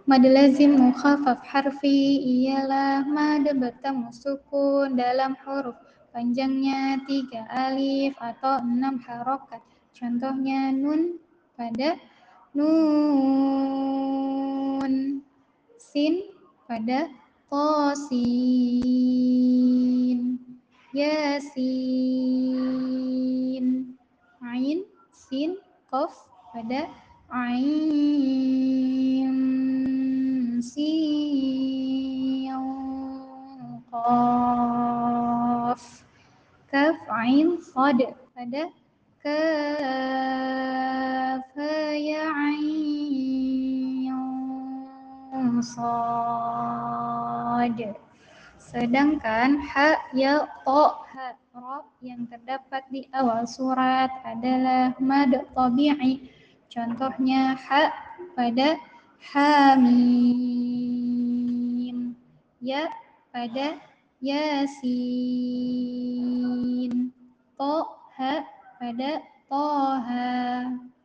Mad lazim mukhaffaf harfi ialah mad bertemu sukun dalam huruf panjangnya 3 alif atau 6 harokat. Contohnya nun pada nun, sin pada tosin, yasin, ain, sin, qaf pada ain, sin, qaf, kaf, ain, sad pada kaf, ya, ain, sad. Sedangkan ha, ya, to, ha, ro yang terdapat di awal surat adalah mad tabi'i. Contohnya ha pada hamim, ya pada yasin, to, ha pada toha.